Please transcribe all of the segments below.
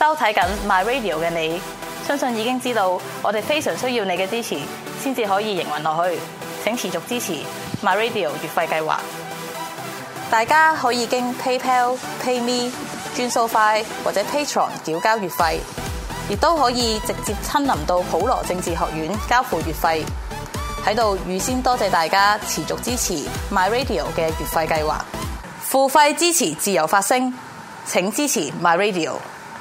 收睇緊 My Radio 嘅你，相信已經知道我哋非常需要你嘅支持，先至可以營運落去。請持續支持 My Radio 月費計劃。大家可以經 PayPal、PayMe、轉數快或者 Patreon 繳交月費，亦都可以直接親臨到普羅政治學院交付月費。喺度預先多謝大家持續支持 My Radio 嘅月費計劃。付費支持自由發聲，請支持 My Radio。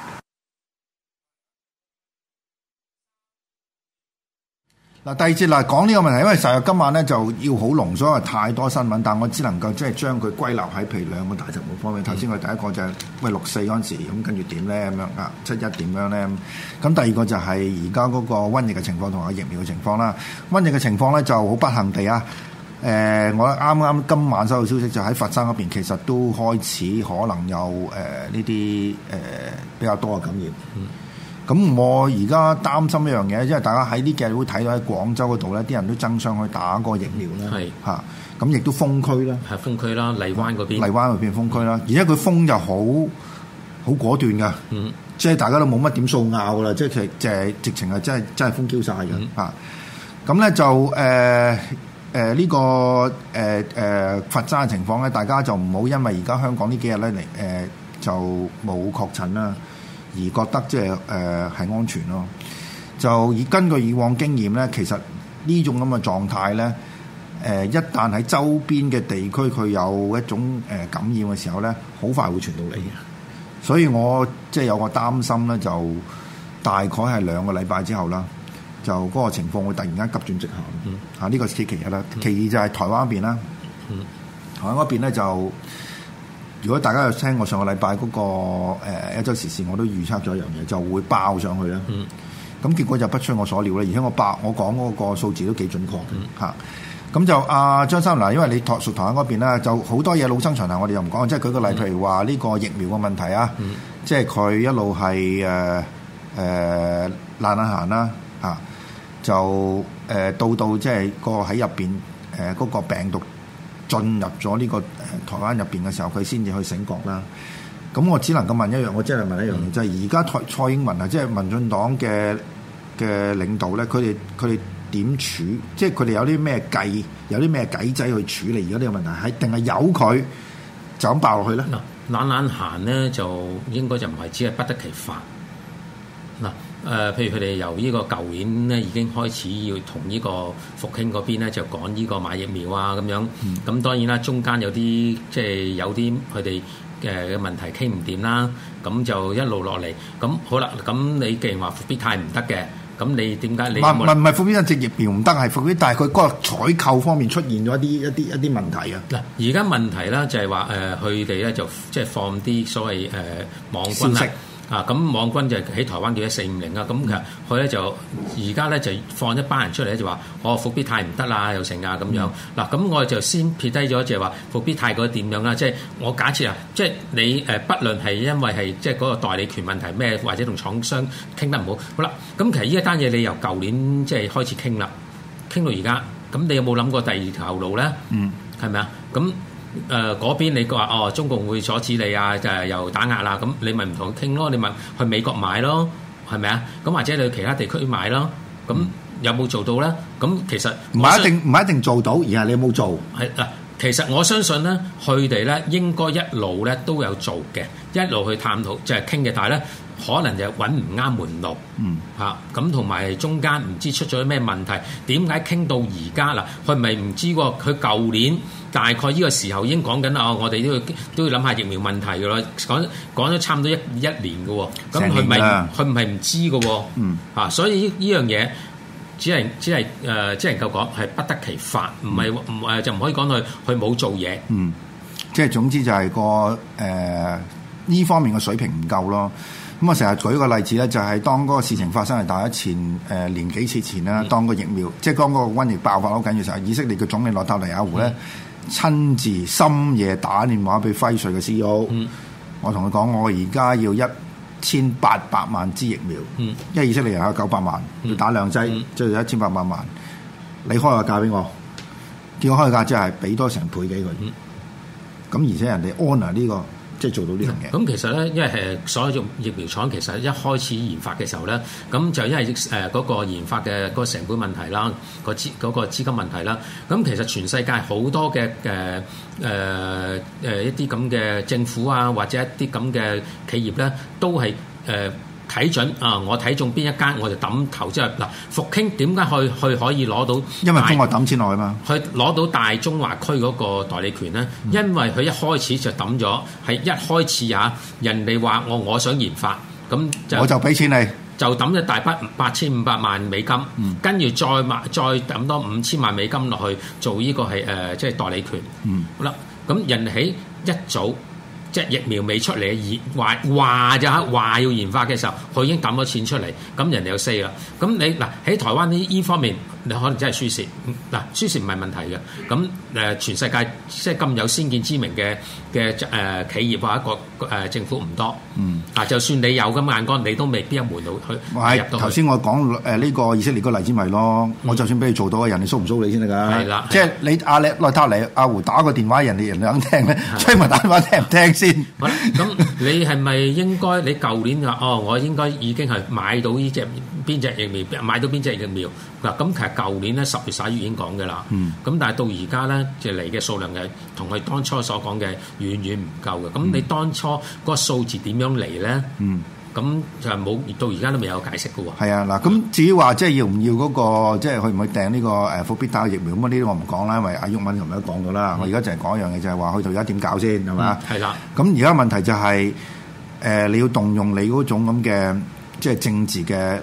嗱，第二節嗱講呢個問題，因為實在今晚咧就要好濃縮，因為太多新聞，但我只能夠即係將佢歸納喺譬如兩個大題目方面。頭先我哋第一個就係6·4嗰陣時，咁跟住點咧咁樣啊，7·1點樣咧？咁第二個就係而家嗰個瘟疫嘅情況同埋疫苗嘅情況啦。瘟疫嘅情況咧就好不幸地啊，我啱啱今晚收到消息就喺佛山嗰邊，其實都開始可能有呢啲比較多嘅感染。咁我而家擔心一樣嘢，因為大家喺呢幾日會睇到喺廣州嗰度咧，啲人都爭相去打個疫苗啦，嚇咁亦都封區啦， 係封區啦，荔灣嗰邊封區啦，而且佢封就好果斷噶，即係大家都冇乜點數拗噶啦，即係直情係真係封 Q 晒嘅嚇。咁咧就呢個佛山嘅情況咧，大家就唔好因為而家香港呢幾日咧嚟就冇確診啦，而覺得即係係安全咯。就根據以往經驗咧，其實呢種咁嘅狀態咧，一旦喺周邊嘅地區佢有一種感染嘅時候咧，好快會傳到嚟嘅。所以我即係有個擔心咧，就大概係2個禮拜之後啦，就嗰個情況會突然間急轉直下。呢個係其一啦。其二就係台灣嗰邊啦。台灣嗰邊咧就。如果大家有聽我上個禮拜嗰個一週時事，我都預測咗一樣嘢，就會爆上去啦。咁結果就不出我所料啦，而且我講嗰個數字都幾準確嘅嚇。咁就張生嗱，因為你屬台灣嗰邊啦，就好多嘢老生常談，我哋又唔講。即係舉個例，譬如話呢個疫苗嘅問題啊，即係佢一路係懶行啦嚇，就到即係個喺入邊嗰個病毒進入咗呢個台灣入邊嘅時候，佢先至去醒覺啦。咁我只能夠問一樣，我真係問一樣嘢，就係而家蔡英文啊，即係民進黨嘅領導咧，佢哋點處？即係佢哋有啲咩計，有啲咩計仔去處理而家呢個問題，係定係由佢就咁爆落去咧？ 嗱，懶行咧就應該就唔係只係不得其法。嗱。譬如佢哋由呢個舊年咧已經開始要同呢個復興嗰邊咧就講呢個買疫苗啊咁樣，咁當然啦，中間有啲即係有啲佢哋嘅問題傾唔掂啦，咁就一路落嚟，咁好啦，咁你既然話復必泰唔得嘅，咁你點解你唔係復必泰隻疫苗唔得，係復必泰佢嗰個採購方面出現咗一啲問題啊？嗱， 而家問題咧就係話佢哋咧就即係放啲所謂網軍啦。咁網軍就喺台灣叫1450啊，咁其實佢咧就而家咧就放一班人出嚟咧就話復必泰唔得啦，又成啊咁樣。嗱，咁我哋就先撇低咗就係話復必泰嗰個點樣啦，即係我假設啊，即係你不論係因為係即係嗰個代理權問題咩，或者同廠商傾得唔好，好啦，咁其實呢一單嘢你由舊年即係開始傾啦，傾到而家，咁你有冇諗過第二條路咧？係咪啊？咁嗰邊你話中共會阻止你啊，又打壓啦，咁你咪唔同佢傾咯，你咪去美國買咯，係咪啊？咁或者你去其他地區買咯，咁有冇做到咧？咁其實唔係一定做到，而係你有冇做？ 係嗱，其實我相信咧，佢哋咧應該一路咧都有做嘅，一路去探討即係傾嘅，但係咧可能就揾唔啱門路，咁同埋中間唔知出咗咩問題，點解傾到而家嗱？佢咪唔知喎？佢舊年大概呢個時候已經講緊啦，我哋都要諗下疫苗問題嘅咯，講咗差唔多一年嘅喎，咁佢唔係唔知嘅喎，所以呢樣嘢只能夠講係不得其法，唔係就唔可以講佢冇做嘢， 即係總之就係個呢方面嘅水平唔夠咯。咁我成日舉個例子咧，就係當嗰個事情發生係大概年幾次前啦，當個疫苗即係當嗰個瘟疫爆發好緊要嘅時候，以色列嘅總理內塔尼亞胡咧親自深夜打電話俾輝瑞嘅 CEO，我同佢講，我而家要1800萬支疫苗，因為以色列人有900萬，要打2劑，即係1800萬。你開個價俾我，叫我開個價即係俾多成倍幾佢。咁而且人哋 honour 呢個。 即係做到呢樣嘢。 咁其實咧，因為所有疫苗廠其實一開始研發嘅時候咧，咁就因為嗰個研發嘅嗰個成本問題啦，嗰個資金問題啦，咁其實全世界好多嘅一啲咁嘅政府啊，或者一啲咁嘅企業咧，都係睇準啊！我睇中邊一間，我就抌投資入嗱。復興點解去可以攞到？ 因為中國抌錢落去嘛。 去攞到大中華區嗰個代理權咧，因為佢一開始就抌咗，係一開始人哋話我想研發，咁我就俾錢你， 就抌咗大筆8500萬美金，跟住再抌多5000萬美金落去做呢個係即係代理權。好啦，咁人哋喺一早。即係疫苗未出嚟，話要研發嘅時候，佢已經抌咗錢出嚟，咁人哋有 say 啦。咁你嗱喺台灣呢方面，你可能真係輸蝕。嗱，輸蝕唔係問題嘅。咁全世界即係咁有先見之明嘅企業或者一個政府唔多。就算你有咁眼光，你都未必一門路去入到去。 頭先我講呢個以色列個例子咪咯，我就算俾你做到，人哋蘇唔蘇你先得㗎？係啦，即係你內塔尼亞胡打個電話，人哋肯聽咧，崔文打電話聽唔聽先？ 好啦，咁你係咪應該？你舊年話我應該已經係買到呢隻邊隻疫苗，買到邊隻疫苗嗱？咁其實舊年咧10月11月已經講嘅啦。咁但係到而家咧，就嚟嘅數量係同佢當初所講嘅遠遠唔夠嘅。咁你當初嗰個數字點樣嚟咧？咁就係冇到而家都未有解釋嘅喎。 係啊，嗱，咁至於話即係要唔要嗰個即係去唔去訂呢個復必泰疫苗咁呢啲我唔講啦，因為阿毓民琴日都講咗啦。我而家就係講一樣嘢，就係話去到而家點搞先係咪？ 係啦。 咁而家問題就係你要動用你嗰種咁嘅即係政治嘅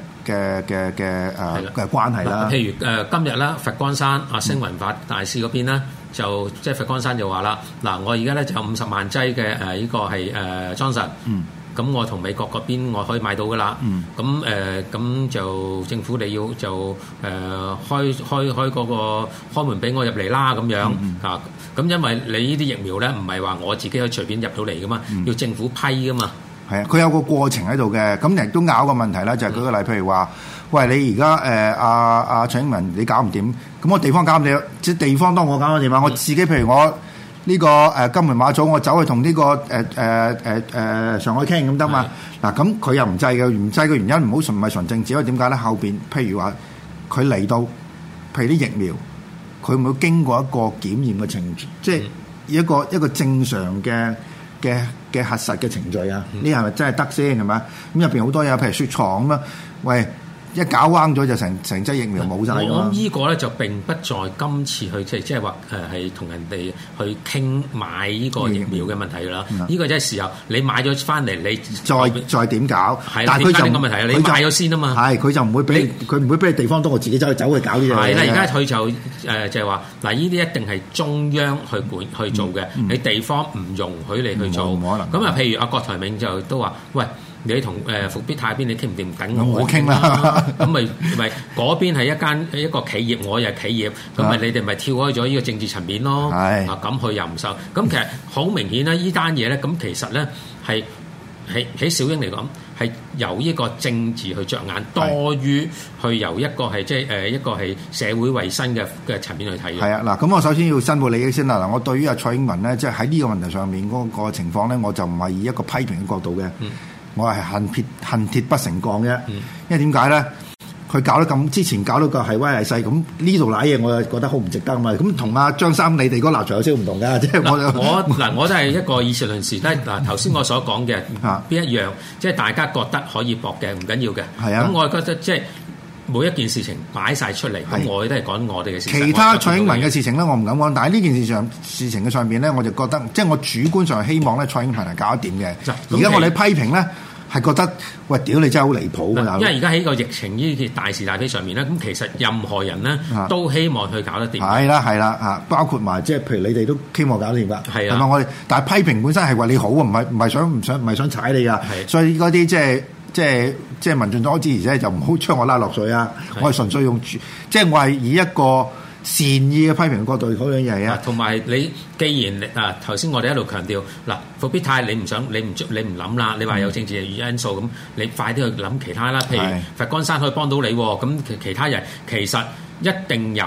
關係啦。 譬如今日啦，佛光山星雲法大師嗰邊咧，就即係佛光山就話啦，嗱，我而家咧就有50萬劑嘅呢個係Johnson。咁我同美國嗰邊我可以買到噶啦，咁就政府你要就開嗰個開門俾我入嚟啦咁樣啊，咁因為你呢啲疫苗咧唔係話我自己可以隨便入到嚟噶嘛，要政府批噶嘛。 係啊，佢有個過程喺度嘅，咁亦都拗個問題啦，就係舉個例，譬如話，喂，你而家阿蔡英文你搞唔掂，咁我地方搞唔掂，即係地方當我搞唔掂啊，我自己譬如我。呢個金門馬祖，我走去同呢個上海傾咁得嘛？嗱，咁佢又唔制嘅，唔制嘅原因唔係純政治，因為點解咧？後邊譬如話佢嚟到，譬如啲疫苗，佢唔會經過一個檢驗嘅程序，即係一個正常嘅核實嘅程序啊？呢係咪真係得先係咪？咁入邊好多嘢，譬如雪藏咁啊，喂！一搞彎咗就成劑疫苗冇晒㗎嘛。 我諗呢個咧就並不在今次去即係話係同人哋去傾買呢個疫苗嘅問題㗎啦。呢個真係時候你買咗翻嚟，你再點搞？ 係啦，點解呢個問題啊？你買咗先啊嘛。係佢就唔會俾佢唔會俾你地方多，我自己走去搞呢樣嘢。 係啦，而家佢就就係話嗱，呢啲一定係中央去做嘅，你地方唔容許你去做。冇可能。咁啊，譬如阿郭台銘就都話：喂。你同復必泰邊你傾唔掂？等我傾啦。 咁咪嗰邊係一個企業，我又係企業，咁咪你哋咪跳開咗呢個政治層面咯。係咁佢又唔受。咁其實好明顯啦，呢單嘢咧，咁其實咧係喺小英嚟講係由呢個政治去着眼，多於去由一個係即係一個係社會衞生嘅層面去睇嘅。係啊， 嗱，咁我首先要申報利益先啦。嗱，我對於阿蔡英文咧，即係喺呢個問題上面嗰個情況咧，我就唔係以一個批評嘅角度嘅。我係恨鐵不成鋼啫，因為點解咧？佢搞得咁之前搞到個係威係勢，咁呢度瀨嘢，我就覺得好唔值得啊嘛。咁同阿張三你哋嗰個立場有少少唔同㗎，即係我都係一個以事論事。嗱，頭先我所講嘅邊一樣，即係大家覺得可以駁嘅，唔緊要嘅。係啊，咁我覺得即係。每一件事情擺晒出嚟，咁我都係講我哋嘅事情。 其他蔡英文嘅事情咧，我唔敢講。但係呢件事情嘅上邊咧，我就覺得，即係我主觀上希望咧，蔡英文係搞得掂嘅。而家我哋批評咧，係覺得喂，屌你真係好離譜㗎！ 因為而家喺個疫情呢件大是大非上面咧，咁其實任何人咧都希望去搞得掂。 係啦嚇，包括埋即係譬如你哋都希望搞得掂㗎。係啊，係咪我哋？但係批評本身係為你好啊，唔係想踩你㗎。所以嗰啲即係民進黨支持者就唔好將我拉落水啊！我係純粹用即係我係以一個善意嘅批評角度去講樣嘢啊。 同埋你既然頭先我哋一路強調嗱，復必泰你唔諗啦，你話有政治因素咁，你快啲去諗其他啦。譬如佛光山可以幫到你，咁其他人其實一定有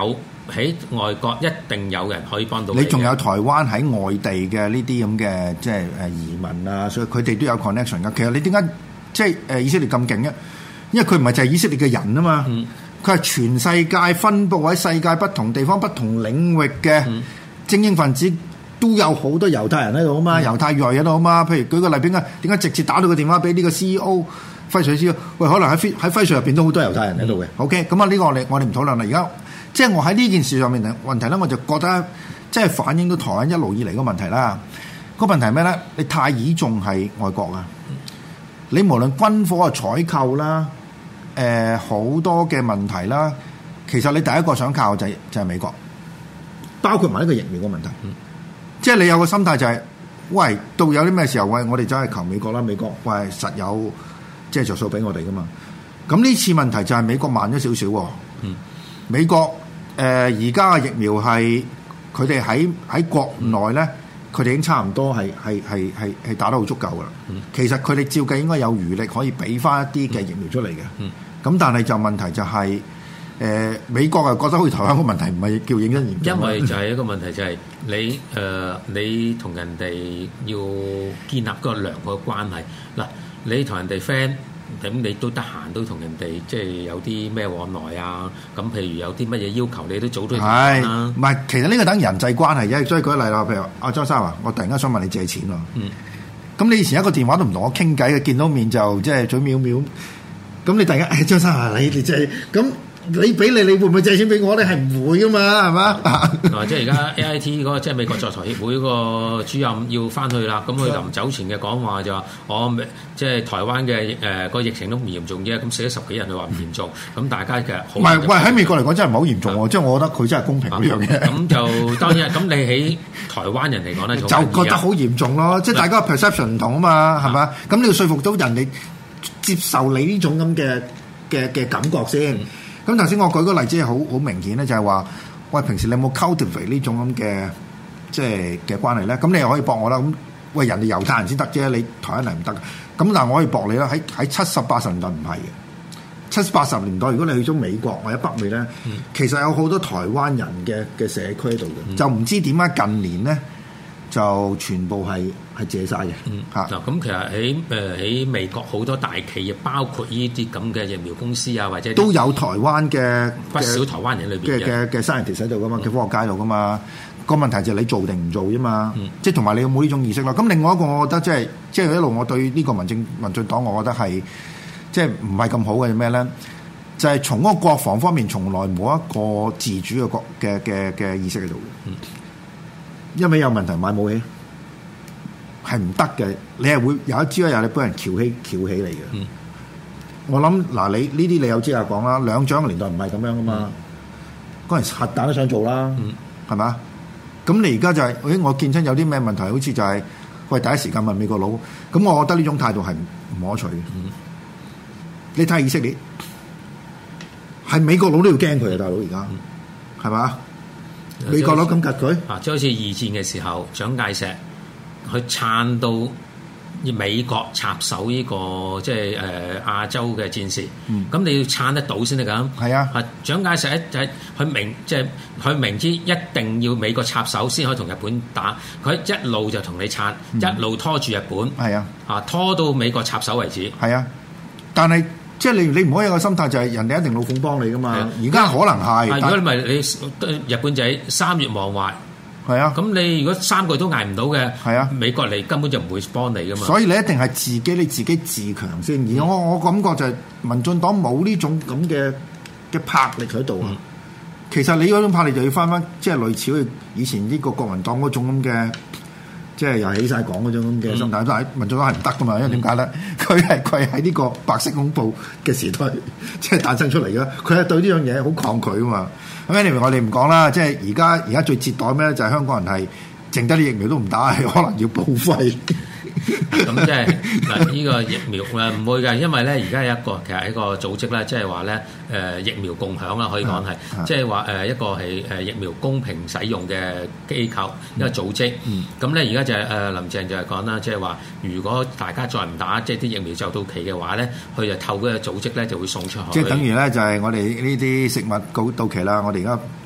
喺外國一定有人可以幫到你仲有台灣喺外地嘅呢啲咁嘅即係移民啊，所以佢哋都有 connection 噶。其實你點解即係以色列咁勁咧？因為佢唔係就係以色列嘅人啊嘛，佢係全世界分佈喺世界不同地方、不同領域嘅精英分子，都有好多猶太人喺度啊嘛，猶太裔喺度啊嘛。譬如舉個例，點解直接打到個電話俾呢個 CEO 輝瑞 CEO？喂，可能喺輝瑞入邊都好多猶太人喺度嘅。OK， 咁啊呢個我哋唔討論啦。而家即係我喺呢件事上面嘅問題咧，我就覺得即係反映到台灣一路以嚟個問題啦。個問題係咩咧？你太倚重係外國啊！你無論軍火嘅採購啦，好多嘅問題啦，其實你第一個想靠就係美國，包括埋呢個疫苗嘅問題。即係你有個心態就係，喂，到有啲咩時候，喂，我哋真係求美國啦，美國喂實有即係着數俾我哋噶嘛。咁呢次問題就係美國慢咗少少喎。美國而家嘅疫苗係佢哋喺國內咧。佢哋已經差唔多係打得好足夠噶啦。其實佢哋照計應該有餘力可以俾翻一啲嘅疫苗出嚟嘅。咁但係就問題就係、美國係覺得好似台灣個問題唔係叫認真研究。 因為就係一個問題就係你同人哋要建立個良好嘅關係。嗱，你同人哋 friend。咁你都得閒都同人哋即係有啲咩往來啊？咁譬如有啲乜嘢要求，你都早都談啦。 唔係，其實呢個等人際關係啫。所以舉例啦，譬如阿張生話，我突然間想問你借錢喎。咁你以前一個電話都唔同我傾偈嘅，見到面就即係嘴藐藐。咁你突然間，張生啊，你借咁。你俾你會唔會借錢俾我咧？係唔會噶嘛，係嘛？ 即係而家 AIT 嗰個即係美國在台協會嗰個主任要翻去啦。咁佢臨走前嘅講話就話：我即係台灣嘅個疫情都唔嚴重啫。咁死咗10幾人，佢話唔嚴重。咁大家其實好唔係喂喺美國嚟講真係唔係好嚴重喎。即係我覺得佢真係公平呢樣嘢。 咁就當然咁你喺台灣人嚟講咧，就覺得好嚴重咯。即係大家 perception 唔同啊嘛，係嘛？咁你要說服到人哋接受你呢種咁嘅感覺先。咁頭先我舉個例子係好明顯咧，就係話，喂，平時你有冇 cultivate 呢種咁嘅即係嘅關係咧？咁你又可以駁我啦。咁喂，人哋猶太人先得啫，你台灣人唔得。咁但係我可以駁你啦。喺70、80年代唔係嘅。70、80年代，如果你去咗美國或者北美咧，其實有好多台灣人嘅社區喺度嘅，就唔知點解近年咧就全部係借晒嘅。 嗱，咁其實喺美國好多大企業，包括呢啲咁嘅疫苗公司啊，或者都有台灣嘅不少台灣人裏邊嘅 scientist 喺度噶嘛，嘅科學家度噶嘛。個問題就係你做定唔做啫嘛。即係同埋你有冇呢種意識咯。咁另外一個，我覺得即係一路我對呢個民進黨，我覺得係即係唔係咁好嘅咩咧？就係從嗰個國防方面，從來冇一個自主嘅意識喺度嘅。因為有問題買武器係唔得嘅，你係會有一朝一日你俾人翹起嚟嘅。我諗嗱，你呢啲你有資格講啦。兩蔣嘅年代唔係咁樣噶嘛，嗰陣核彈都想做啦，係嘛？咁你而家就係，我見親有啲咩問題，好似就係喂第一時間問美國佬。咁我覺得呢種態度係唔可取嘅。你睇以色列，係美國佬都要驚佢啊，大佬而家係嘛？美國佬咁夾佢啊，即係好似二戰嘅時候，蔣介石去撐到美國插手呢個即係亞洲嘅戰事。咁你要撐得到先得㗎。 係啊， 蔣介石佢明知一定要美國插手先可以同日本打，佢一路就同你撐，一路拖住日本。 係啊， 拖到美國插手為止。 係啊，但係。即係你唔可以有個心態就係人哋一定老奉幫你噶嘛，而家可能係。 如果你咪你日本仔3月亡懷， 係啊， 咁你如果3個月都捱唔到嘅， 係啊， 美國嚟根本就唔會幫你噶嘛。 所以你一定係你自己自強先。而我感覺就係民進黨冇呢種咁嘅魄力喺度啊。其實你嗰種魄力就要翻即係類似以前呢個國民黨嗰種咁嘅。即係又起晒講嗰種咁嘅心態，但係民進黨係唔得噶嘛，因為點解咧？佢係喺呢個白色恐怖嘅時代即係誕生出嚟嘅，佢係對呢樣嘢好抗拒啊嘛。咁anyway我哋唔講啦，即係而家最折墮咩咧？就係香港人係剩低啲疫苗都唔打，係可能要報廢。 咁即係嗱，呢個疫苗唔會嘅，因為咧而家有其實一個組織咧，即係話咧疫苗共享啦，可以講係，即係話一個係疫苗公平使用嘅機構一個組織。咁咧而家就係林鄭就係講啦，即係話如果大家再唔打，即係啲疫苗就到期嘅話咧，佢就透過個組織咧就會送出去。 即係等於咧就係我哋呢啲食物到期啦，我哋而家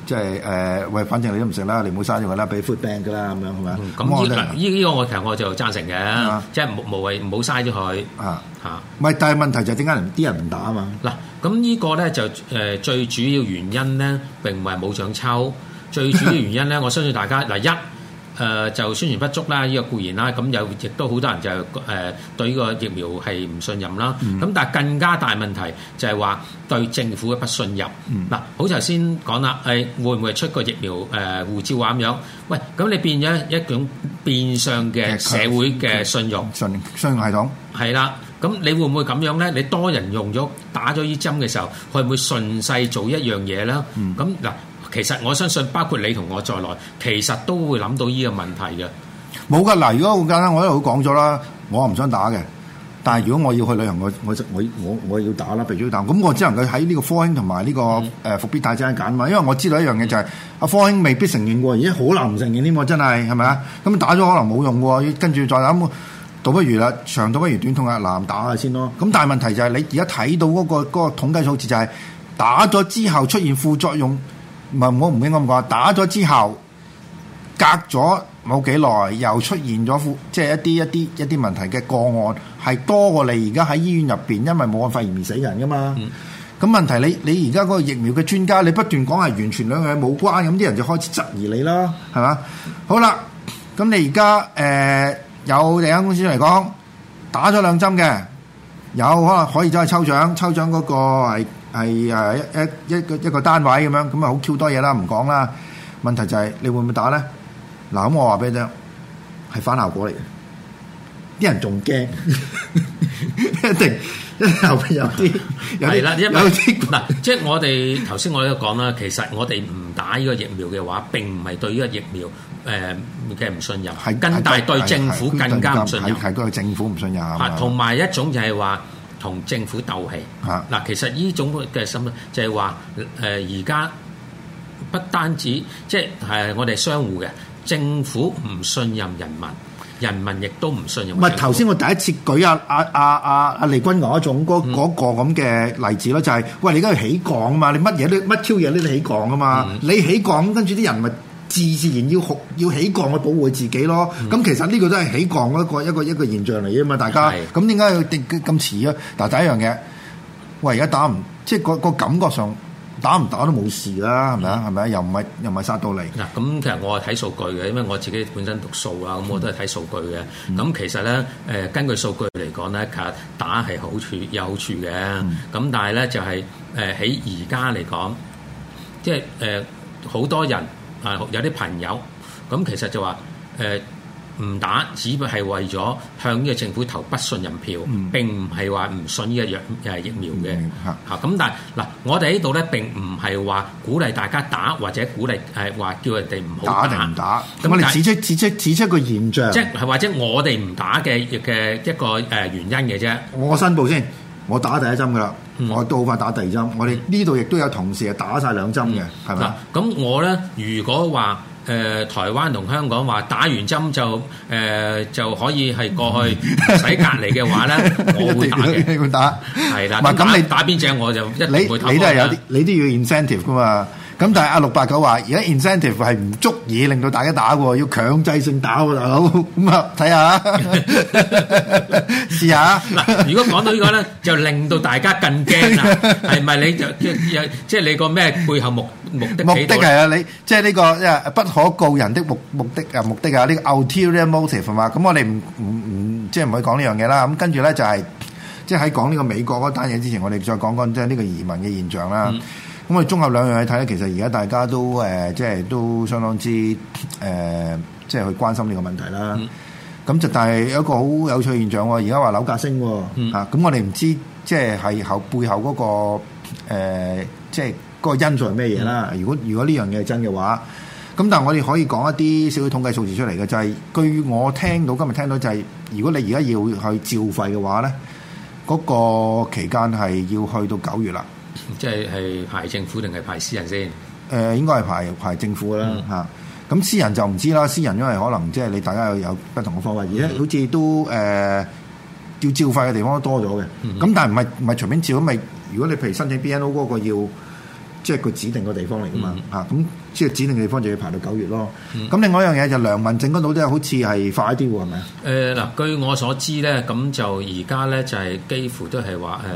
即係喂，反正你都唔食啦，你唔好嘥咗佢啦，俾 food bank 㗎啦，咁樣係咪？ 咁呢個我其實我就贊成嘅，即係無謂唔好嘥咗佢嚇。 唔係，但係問題就係點解啲人唔打啊嘛？ 嗱，咁呢個咧就最主要原因咧並唔係冇獎抽，最主要原因咧我相信大家嗱就宣傳不足啦，呢個固然啦，咁亦都好多人就對呢個疫苗係唔信任啦。咁但係更加大問題就係話對政府嘅不信任。嗱，好似頭先講啦，會唔會出個疫苗護照啊咁樣？喂，咁你變咗一種變相嘅社會嘅信用信用系統係啦。咁你會唔會咁樣咧？你多人用咗打咗呢針嘅時候，會唔會順勢做一樣嘢咧？咁嗱。其實我相信，包括你同我在內，其實都會諗到呢個問題嘅。 冇㗎嗱，如果好簡單，我一路講咗啦，我唔想打嘅。但係如果我要去旅行，我要打啦，必須要打。咁我只能夠喺呢個科興同埋呢個復必泰之間揀嘛。因為我知道一樣嘢就係阿科興未必承認喎，而家好難唔承認添喎，真係咪啊？咁打咗可能冇用喎，跟住再諗，倒不如啦，長倒不如短痛啊，難打下先咯。咁但係問題就係你而家睇到嗰個統計數字就係打咗之後出現副作用。唔係，我唔應該咁講。打咗之後，隔咗冇幾耐，又出現咗即係一啲問題嘅個案，係多過你而家喺醫院入邊，因為武漢肺炎而死人噶嘛。咁問題你而家嗰個疫苗嘅專家，你不斷講係完全兩樣冇關，咁啲人就開始質疑你啦，係嘛？好啦，咁你而家有另一間公司嚟講打咗2針嘅，有可能可以走去抽獎嗰個係一個單位咁樣，咁啊好 Q 多嘢啦，唔講啦。問題就係你會唔會打咧？嗱，咁我話俾你聽，係反效果嚟嘅，啲人仲驚，一定後邊有啲係啦，有啲嗱，即係我哋頭先我都講啦，其實我哋唔打呢個疫苗嘅話，並唔係對呢個疫苗嘅唔信任，係但係對政府更加唔信任， 係對政府唔信任啊。 同埋一種就係話同政府鬥氣嗱，其實呢種嘅心就係話而家不單止即係我哋相互嘅政府唔信任人民。人民亦都唔信任。 唔係頭先我第一次舉阿利君雅嗰種嗰個咁嘅例子咯，就係喂你而家要起降啊嘛，你乜挑嘢都起降啊嘛，你起降跟住啲人咪自然要起降去保護自己咯。咁其實呢個都係起降一個現象嚟啊嘛，大家咁點解要咁遲啊？嗱，第一樣嘢，喂而家打唔即係個感覺上。打唔打都冇事啦，係咪啊？係咪啊？又唔係殺到嚟嗱。咁其實我係睇數據嘅，因為我自己本身讀數啊，咁我都係睇數據嘅。咁其實咧，根據數據嚟講咧，其實打係有好處嘅。咁但係咧就係喺而家嚟講，即係好多人啊，有啲朋友咁其實就話唔打，只不過係為咗向呢個政府投不信任票，並唔係話唔信呢個疫苗嘅嚇。咁但係嗱，我哋呢度咧並唔係話鼓勵大家打，或者鼓勵話叫人哋唔好打定唔打。咁我哋指出個現象， 即係或者我哋唔打嘅一個原因嘅啫。 我申報先，我打第一針噶啦，我都好快打第2針。我哋呢度亦都有同事係打晒2針嘅，係咪？ 咁我咧如果話台灣同香港話打完針就可以係過去唔使隔離嘅話咧，我會打嘅。 你會打係啦。咁你打邊隻我就一定會投。 你都係有啲，你都要 incentive 噶嘛。咁但係阿689話，而家 incentive 係唔足以令到大家打喎，要強制性打喎，大佬。咁啊，睇下試下。 嗱，如果講到呢個咧，就令到大家更驚啦。係咪你就即係你個咩背後目的係啊？你即係呢個不可告人的目的啊，呢個 ulterior motive 係嘛？咁我哋唔即係唔可以講呢樣嘢啦。咁跟住咧就係即係喺講呢個美國嗰單嘢之前，我哋再講講即係呢個移民嘅現象啦。咁我哋綜合兩樣去睇咧，其實而家大家都即係都相當之即係去關心呢個問題啦。咁就但係有一個好有趣嘅現象喎，而家話樓價升喎，咁我哋唔知即係背後嗰個即係嗰個因素係咩嘢啦。如果呢樣嘢係真嘅話，咁但係我哋可以講一啲少少統計數字出嚟嘅，就係據我今日聽到就係，如果你而家要去照肺嘅話咧，嗰個期間係要去到9月啦。 即係排政府定係排私人先？ 應該係排政府啦嚇。咁私人就唔知啦。私人因為可能即係你大家有不同嘅方法，而且好似都要照肺嘅地方都多咗嘅。咁但係唔係隨便照咁咪？如果你譬如申請 BNO 嗰個即係佢指定個地方嚟噶嘛咁即係指定嘅地方就要排到9月咯。咁另外一樣嘢就良民證嗰度都好似係快啲喎，係咪啊？ 嗱，據我所知咧，咁就而家咧就係幾乎都係話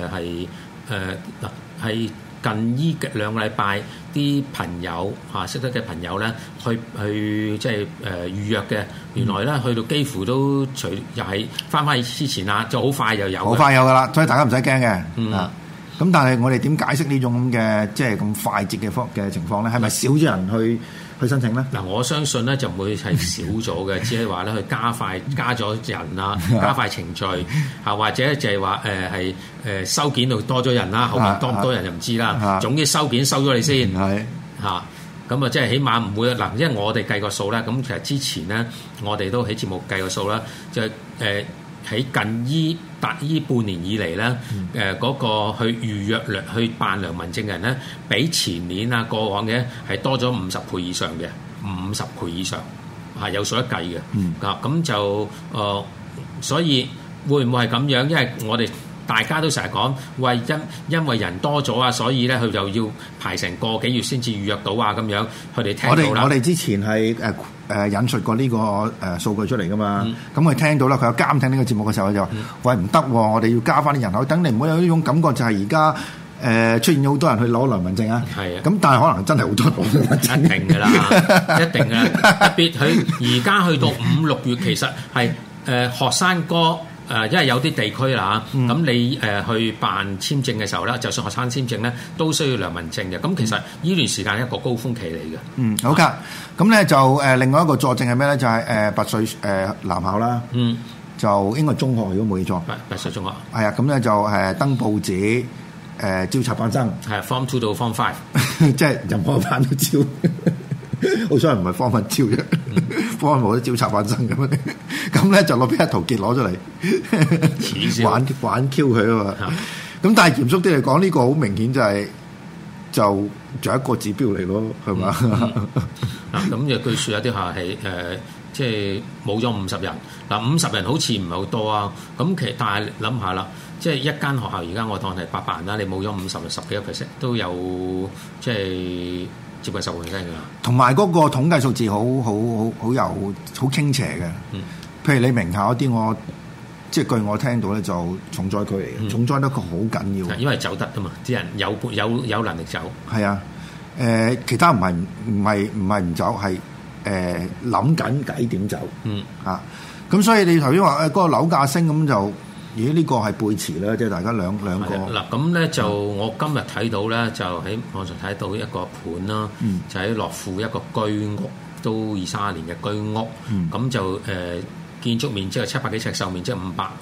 係近依2個禮拜啲朋友識得嘅朋友咧，去即係預約嘅，原來咧去到幾乎都又係翻之前啦，就好快又有， 好快有噶啦，所以大家唔使驚嘅。咁但係我哋點解釋呢種咁嘅即係咁快捷嘅情況咧？係咪少咗人去申請咧？ 嗱，我相信咧就唔會係少咗嘅，只係話咧佢加咗人啦，加快程序或者就係話收件度多咗人啦，後面多唔多人就唔知啦。總之收件收咗你先咁啊，即係起碼唔會嗱，因為我哋計個數咧，咁其實之前咧我哋都喺節目計個數啦，就喺近依半年以嚟咧，嗰個去預約去辦良民證嘅人咧，比前年過往嘅係多咗50倍以上嘅，50倍以上有數得計嘅。咁就所以會唔會係咁樣？因為我哋大家都成日講，喂，因為人多咗所以咧佢就要排成個幾月先至預約到咁樣，佢哋聽到啦。 我哋之前係引述過呢個數據出嚟噶嘛，咁佢聽到啦，佢有監聽呢個節目嘅時候，佢就話：喂，唔得，我哋要加翻啲人口，等你唔好有呢種感覺，就係而家出現咗好多人去攞良民證啊。係啊，咁但係可能真係好多人攞良民證，一定㗎啦，一定㗎。特別佢而家去到5、6月，其實係學生哥。因為有啲地區啦，咁你去辦簽證嘅時候咧，就算學生簽證咧，都需要良民證嘅。咁其實呢段時間係一個高峰期嚟嘅。好噶。咁咧就另外一個佐證係咩咧？就係拔萃男校啦。就應該中學，如果冇記錯。拔萃中學。係啊，咁咧就登報紙招插班生。係 Form 2到 Form 5，即係任何班都招。好彩唔係方份招啫，方份冇得招插班生咁樣，咁咧就攞俾阿陶傑攞出嚟玩 Q 佢啊嘛。咁但係嚴肅啲嚟講，呢個好明顯就仲有一個指標嚟咯，係嘛？咁有據說有啲下係即係冇咗50人。50人好似唔係好多啊。咁其實但係諗下啦，即係一間學校而家我當係800人啦，你冇咗50人，10幾個 percent 都有即係。接近10%㗎，同埋嗰個統計數字好傾斜嘅。譬如你名校嗰啲，我即係據我聽到咧，就重災區嚟嘅，重災得個好緊要。因為走得啊嘛，啲人有能力走。係啊，其他唔係唔走，係諗緊計點走。咁所以你頭先話嗰個樓價升咁就。呢個係背馳啦，即係大家兩個。嗱咁咧就我今日睇到咧，就喺網上睇到一個盤啦，就喺樂富一個居屋，都20-30年嘅居屋，咁就建築面積係700幾尺，售面積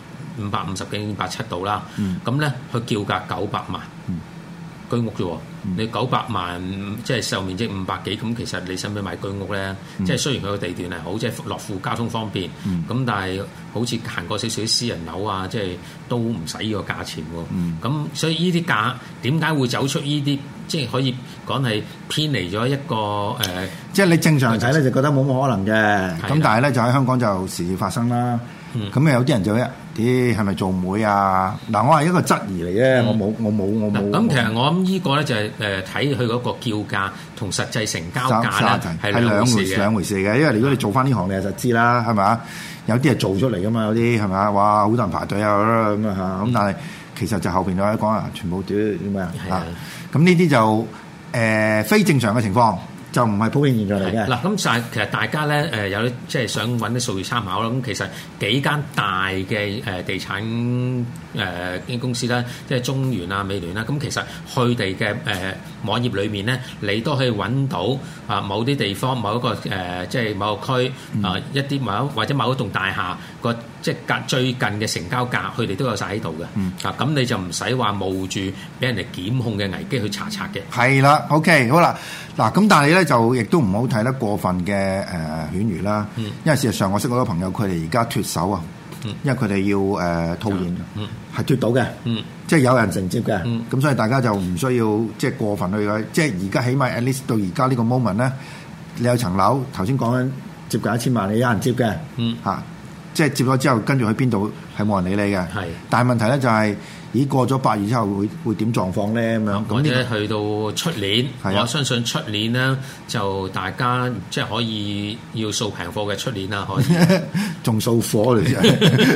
550幾570度啦，咁咧佢叫價900萬。居屋啫喎，你900萬即係售面積500幾，咁其實你使唔使買居屋咧？即係雖然佢個地段係好，即係樂富交通方便，咁但係好似行過少少私人樓啊，即係都唔使呢個價錢喎。咁所以呢啲價點解會走出呢啲，即係可以講係偏離咗一個即係你正常睇咧就覺得冇乜可能嘅，咁但係咧就喺香港就時時發生啦。咁有啲人就啲係咪做媒啊？嗱，我係一個質疑嚟嘅，我冇。咁其實我諗呢個咧就係睇佢嗰個叫價同實際成交價咧係兩回事嘅。因為如果你做翻呢行，你就知啦，係咪？有啲係做出嚟噶嘛，有啲係咪？哇，好多人排隊啊咁啊嚇！咁但係其實就後邊有講啊，全部啲咩啊？咁呢啲就非正常嘅情況。就唔係普遍現象嚟嘅。嗱，咁就係其實大家咧有啲即係想揾啲數據參考啦。咁其實幾間大嘅地產公司啦，即係中原啊、美聯啦，咁其實佢哋嘅網頁裏面咧，你都可以揾到某啲地方、某一個即係某個區一啲或者某一棟大廈個即係最近嘅成交價，佢哋都有晒喺度嘅。咁你就唔使話冒住俾人哋檢控嘅危機去查冊嘅。係啦 ，OK， 好啦，嗱咁但係咧就亦都唔好睇得過分嘅犬儒啦，因為事實上我識好多朋友，佢哋而家脫手啊，因為佢哋要套現，係脫到嘅，即係有人承接嘅，咁所以大家就唔需要即係過分去即係而家起碼 at least 到而家呢個 moment 咧，你有層樓頭先講緊接近1000萬，你有人接嘅，即係接咗之後跟住去邊度係冇人理你嘅，但係問題咧就係咦過咗8月之後會點狀況咧咁樣？ 或者去到出年， 係我相信出年咧就大家即係可以要掃平貨嘅出年啦，可以仲掃貨嚟啫。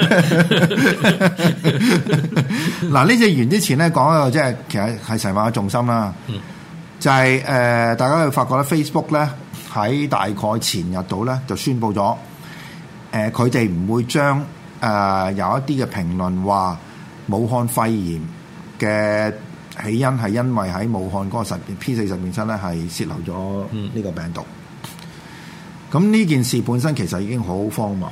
嗱，呢隻完之前咧講一個即係其實係成晚嘅重心啦，就係大家會發覺咧 Facebook 咧喺大概前日度咧就宣布咗，佢哋唔會將有一啲嘅評論話武漢肺炎嘅起因係因為喺武漢嗰個P4實驗室咧係泄漏咗呢個病毒。咁呢件事本身其實已經好荒謬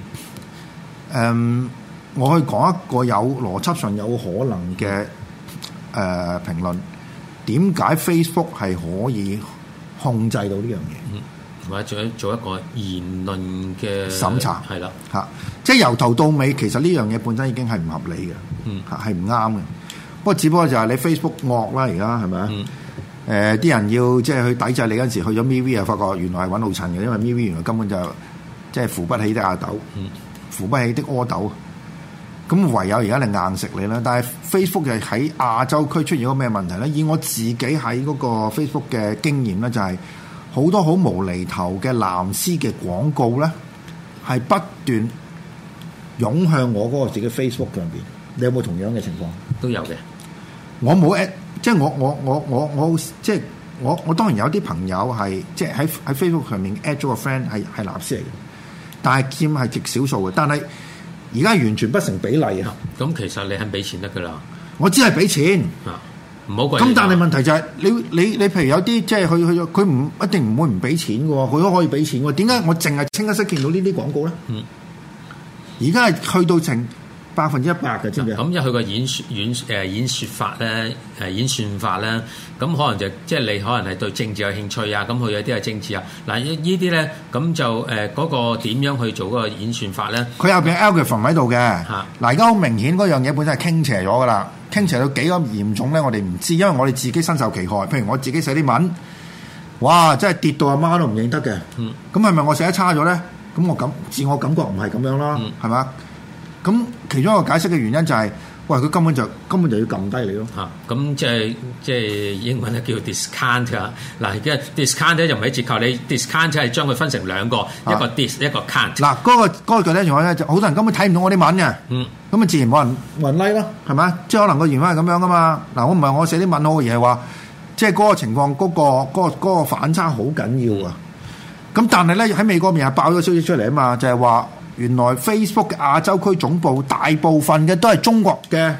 㗎。我去講一個有邏輯上有可能嘅評論，點解 Facebook 係可以控制到呢樣嘢？ 或者做一個言論嘅審查， 係啦嚇，即係由頭到尾，其實呢樣嘢本身已經係唔合理嘅，係唔啱嘅。不過只不過就係你 Facebook 惡啦，而家係咪啊？啲人要即係去抵制你嗰陣時，去咗 MeWe 啊，發覺原來係揾老襯嘅，因為 MeWe 原來根本就即係扶不起的阿斗，扶不起的阿斗。咁唯有而家你硬食你啦。但係 Facebook 就喺亞洲區出現咗個咩問題咧？以我自己喺嗰個 Facebook 嘅經驗咧，就係好多好無厘頭嘅藍絲嘅廣告咧，係不斷湧向我嗰個自己 Facebook 上邊。你有冇同樣嘅情況？ 都有嘅。 我冇 at，即係我即係我當然有啲朋友係即係喺 Facebook 上面 at 咗個 friend 係藍絲嚟嘅，但係佔係極少數嘅。但係而家完全不成比例啊！ 咁其實你肯俾錢得㗎啦。我只係俾錢啊，唔好貴。 咁但係問題就係你譬如有啲即係佢唔一定唔會唔俾錢嘅喎，佢都可以俾錢喎。點解我淨係清一色見到呢啲廣告咧？而家係去到成100%嘅，知唔知？ 咁因為佢個演説法咧，演算法咧，咁可能就即係你可能係對政治有興趣啊，咁佢有啲係政治啊。嗱呢啲咧，咁就嗰個點樣去做嗰個演算法咧？ 佢有邊 algorithm 喺度嘅。嗱，而家好明顯嗰樣嘢本身係傾斜咗㗎啦，傾斜到幾咁嚴重咧？我哋唔知，因為我哋自己身受其害。譬如我自己寫啲文，哇！真係跌到阿媽都唔認得嘅。咁係咪我寫得差咗咧？咁我自我感覺唔係咁樣啦，係嘛？咁其中一個解釋嘅原因就係，喂，佢根本就要撳低你咯。 咁即係英文咧叫 discount 啊。嗱，而家 discount 咧就唔係折扣，你 discount 係將佢分成兩個，一個 dis 一個 count。嗱， 嗰個具體情況咧，就好多人根本睇唔到我啲文嘅。咁啊自然冇人 like 咯，係咪？即係可能個原因係咁樣噶嘛。嗱，我唔係我寫啲文好嘅，而係話，即係嗰個情況嗰個反差好緊要啊。咁但係咧喺美國面係爆咗消息出嚟啊嘛，就係話。原來 Facebook 嘅亞洲區總部大部分嘅都係中國嘅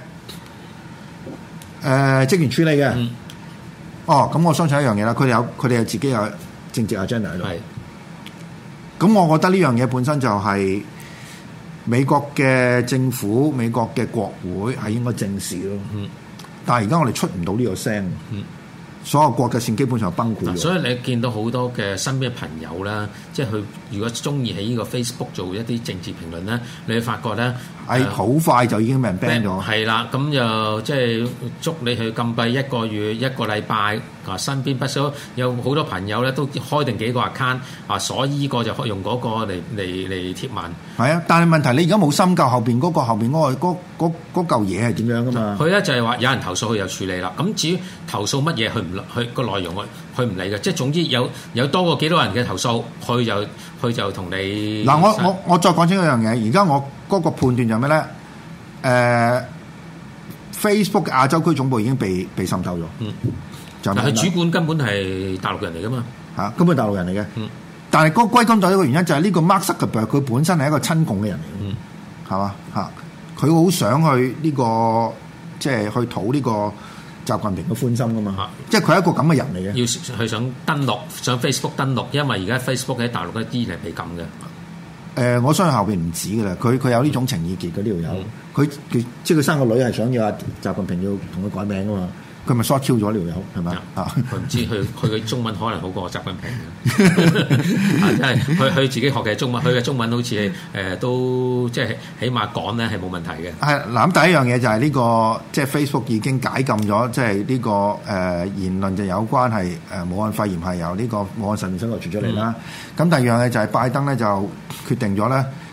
職員處理嘅。咁我相信一樣嘢啦，佢哋有自己有政治 agenda 喺度。咁我覺得呢樣嘢本身就係美國嘅政府、美國嘅國會係應該正視咯。但係而家我哋出唔到呢個聲。所有國際線基本上崩潰。 所以你見到好多嘅身邊嘅朋友啦，即係佢如果中意喺呢個 Facebook 做一啲政治評論咧，你會發覺咧係好快就已經俾人 ban 咗。 係啦，咁就即係捉你去禁閉1個月、1個禮拜。身邊不少有好多朋友咧都開定幾個 account 所以呢個就用嗰個嚟貼文。係啊，但係問題你而家冇深究後邊嗰嚿嘢係點樣噶嘛？ 佢咧就係話有人投訴，佢就處理啦。咁至於投訴乜嘢，佢個內容佢唔理嘅。即係總之有多過幾多人嘅投訴，佢就同你。 嗱，我再講清一樣嘢。而家我嗰個判斷就係咩咧？Facebook 亞洲區總部已經被滲透咗。 但係主管根本係大陸人嚟噶嘛？ 根本大陸人嚟嘅。但係嗰個歸根到底個原因就係呢個 Mark Zuckerberg 佢本身係一個親共嘅人嚟嘅，係嘛？佢好想去呢個即係去討呢個習近平嘅歡心噶嘛？即係佢係一個咁嘅人嚟嘅。 要佢想登錄，上 Facebook 登錄，因為而家 Facebook 喺大陸一啲係被禁嘅。 我相信後邊唔止噶啦，佢有呢種情意結嘅呢條友，佢即係佢生個女係想要習近平要同佢改名噶嘛。佢咪 short 咗條友係咪啊？ 佢唔知佢嘅中文可能好過習近平嘅，真係佢自己學嘅中文，佢嘅中文好似都即係起碼講咧係冇問題嘅。 係嗱，咁第一樣嘢就係呢個即係 Facebook 已經解禁咗，即係呢個言論就有關係武漢肺炎係由呢個武漢實驗室度傳出嚟啦。咁第二樣嘢就係拜登咧就決定咗咧，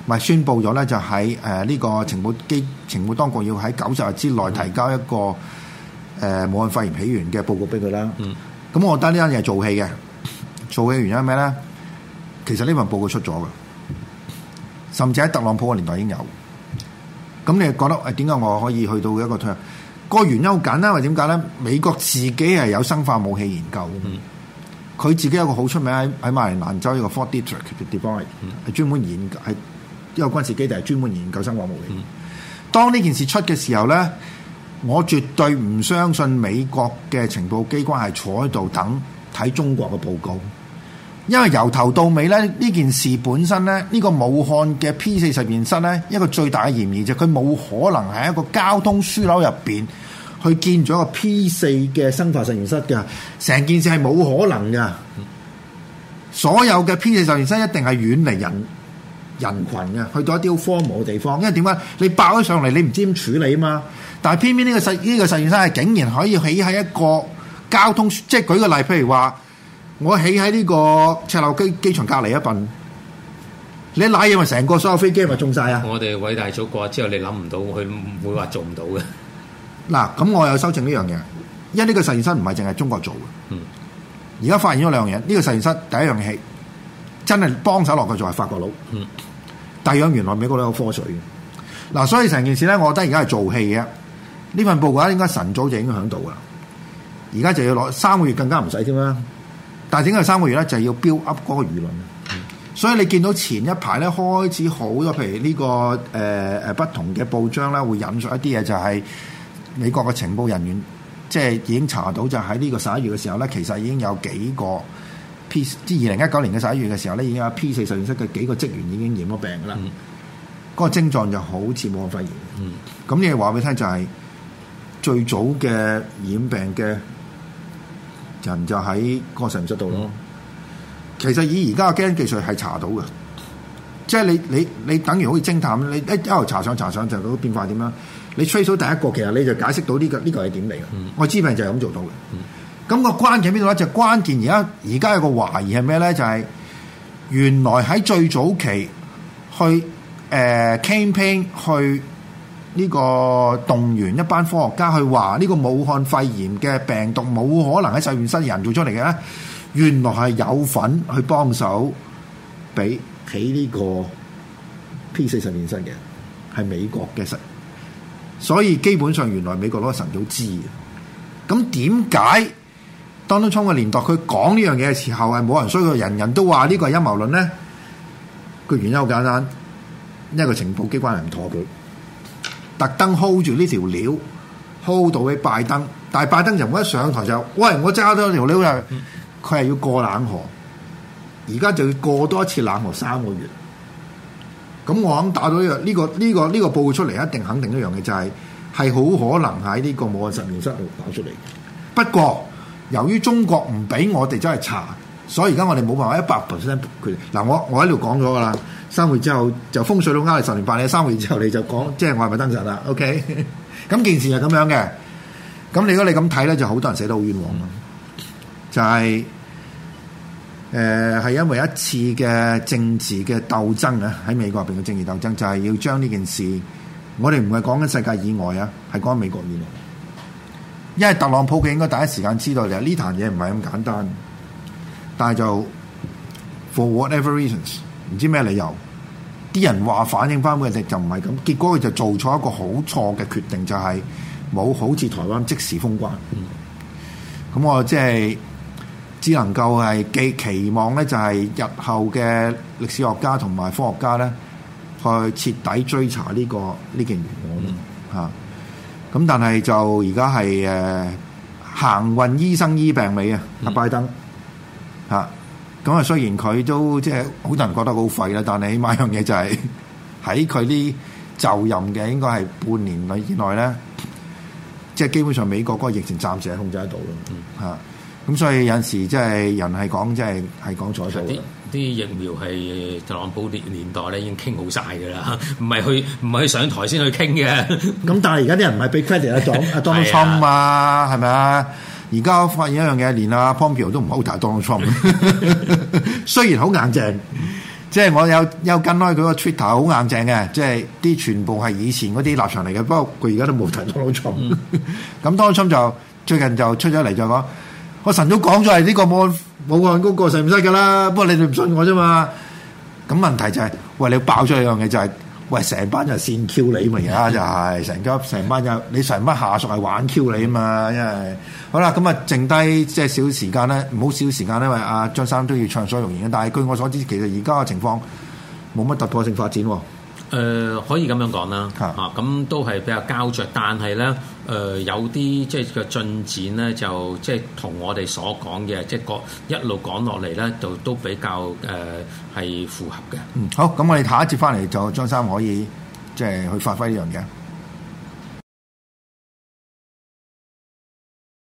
咪宣布咗咧，就喺呢個情報當局要喺90日之內提交一個武漢肺炎起源嘅報告俾佢啦。咁我覺得呢單嘢係做戲嘅，做戲嘅原因係咩咧？其實呢份報告出咗嘅，甚至喺特朗普嘅年代已經有。咁你覺得點解我可以去到一個退？個原因好簡單，係點解咧？美國自己係有生化武器研究，佢自己有個好出名喺馬里蘭州一個 Fort Detrick 嘅地方係專門研究，係一個軍事基地，係專門研究生化武器。當呢件事出嘅時候咧，我絕對唔相信美國嘅情報機關係坐喺度等睇中國嘅報告，因為由頭到尾咧，呢件事本身咧，呢個武漢嘅 P4實驗室咧，一個最大嘅嫌疑就係佢冇可能喺一個交通樞紐入邊去建咗一個 P4嘅生化實驗室嘅，成件事係冇可能嘅。所有嘅 P4實驗室一定係遠離人群嘅，去到一啲好荒蕪嘅地方。因為點解？你爆咗上嚟，你唔知點處理啊嘛。但係偏偏呢個實驗室係竟然可以起喺一個交通，即係舉個例，譬如話我起喺呢個赤鱲角機場隔離一份，你瀨嘢咪成個所有飛機咪中晒啊！ 我哋偉大祖國之後，你諗唔到，佢唔會話做唔到嘅。 嗱，咁我有修正呢樣嘢，因為呢個實驗室唔係淨係中國做嘅。而家發現咗兩樣嘢，呢個實驗室第一樣嘢真係幫手落去做係法國佬。第二樣原來美國佬有科水嘅。嗱，所以成件事咧，我覺得而家係做戲嘅。呢份報告咧應該晨早就已經響度噶啦，而家就要攞3個月，更加唔使添啦。但係點解3個月咧？就係要 build up 嗰個輿論。所以你見到前一排咧開始好多，譬如呢個不同嘅報章咧會引述一啲嘢，就係美國嘅情報人員即係已經查到，就喺呢個11月嘅時候咧，其實已經有幾個 P， 即係2019年嘅11月嘅時候咧，已經有 P4實驗室嘅幾個職員已經染咗病噶啦。嗰個症狀就好似武漢肺炎。咁你話俾你聽就係最早嘅染病嘅人就喺個實驗室度咯。其實以而家嘅基因技術係查到嘅，即係你等於好似偵探，你一路查上就嗰個變化點樣？你 trace 到第一個，其實你就解釋到呢個係點嚟嘅。愛滋病就係咁做到嘅。咁個關鍵邊度咧？就關鍵而家有個懷疑係咩咧？就係原來喺最早期去campaign 去呢個動員一班科學家去話呢個武漢肺炎嘅病毒冇可能喺實驗室人做出嚟嘅咧，原來係有份去幫手俾起呢個 P4實驗室嘅，係美國嘅實，所以基本上原來美國攞神早知嘅。咁點解 Donald Trump 嘅年代佢講呢樣嘢嘅時候係冇人衰，佢人人都話呢個係陰謀論咧？個原因好簡單，因為個情報機關係唔妥佢。特登 hold 住呢條料 ，hold 到俾拜登，但係拜登就唔一上台就，喂，我揸咗條料就，佢係要過冷河，而家就要過多一次冷河3個月。咁我肯打到呢個報告出嚟，一定肯定一樣嘅就係好可能喺呢個武漢實驗室度搞出嚟。不過由於中國唔俾我哋真係查，所以而家我哋冇辦法100%佢嗱，我喺度講咗㗎啦。3個月之後就風水佬呃你10年8年，3個月之後你就講，即係我係咪燈神啦 ？OK， 咁件事係咁樣嘅。咁如果你咁睇咧，就好多人寫得好冤枉咯。就係係因為一次嘅政治嘅鬥爭啊，喺美國入邊嘅政治鬥爭，就係要將呢件事，我哋唔係講緊世界以外啊，係講緊美國以內。因為特朗普佢應該第一時間知道就係呢壇嘢唔係咁簡單，但係就 for whatever reasons。唔知咩理由，啲人話反映翻嘅就唔係咁，結果佢就做錯一個好錯嘅決定，就係冇好似台灣即時封關。咁我即係只能夠係期望咧，就係日後嘅歷史學家同埋科學家咧，去徹底追查呢件懸案嚇。咁但係就而家係行運醫生醫病尾啊，阿拜登嚇。咁啊，雖然佢都即係好多人覺得好廢啦，但係起碼一樣嘢就係喺佢啲就任嘅應該係半年以內咧，即係基本上美國嗰個疫情暫時係控制得到咯嚇。咁所以有陣時即係人係講即係講錯數。啲疫苗係特朗普年代咧已經傾好晒㗎啦，唔係去上台先去傾嘅。咁但係而家啲人唔係俾 credit 阿 Donald Trump 啊，係咪啊？而家發現一樣嘢，連阿 Pompeo 都唔好睇 Donald Trump，雖然好硬淨， 即係我有跟開佢個 Twitter 好硬淨嘅，即係啲全部係以前嗰啲立場嚟嘅。不過佢而家都冇提 Donald Trump。咁 Donald Trump 就最近就出咗嚟就講，我晨早講咗係呢個冇案嗰個實驗室㗎啦。不過你哋唔信我啫嘛。咁問題就係、是，喂，你爆出一樣嘢就係、是，喂，成班人線 Q 你嘛，而家就係成班人，你成班下屬係玩 Q 你啊嘛，因為好啦，咁啊，剩低即係少時間咧，唔好少時間咧，因為阿張生都要暢所欲言嘅。但係據我所知，其實而家嘅情況冇乜突破性發展喎。 可以咁樣講啦，咁都係比較膠着，但係咧有啲即係個進展咧，就即係同我哋所講嘅，即係一路講落嚟咧，就都比較係符合嘅。 好，咁我哋下一節翻嚟就張生可以即係去發揮呢樣嘢。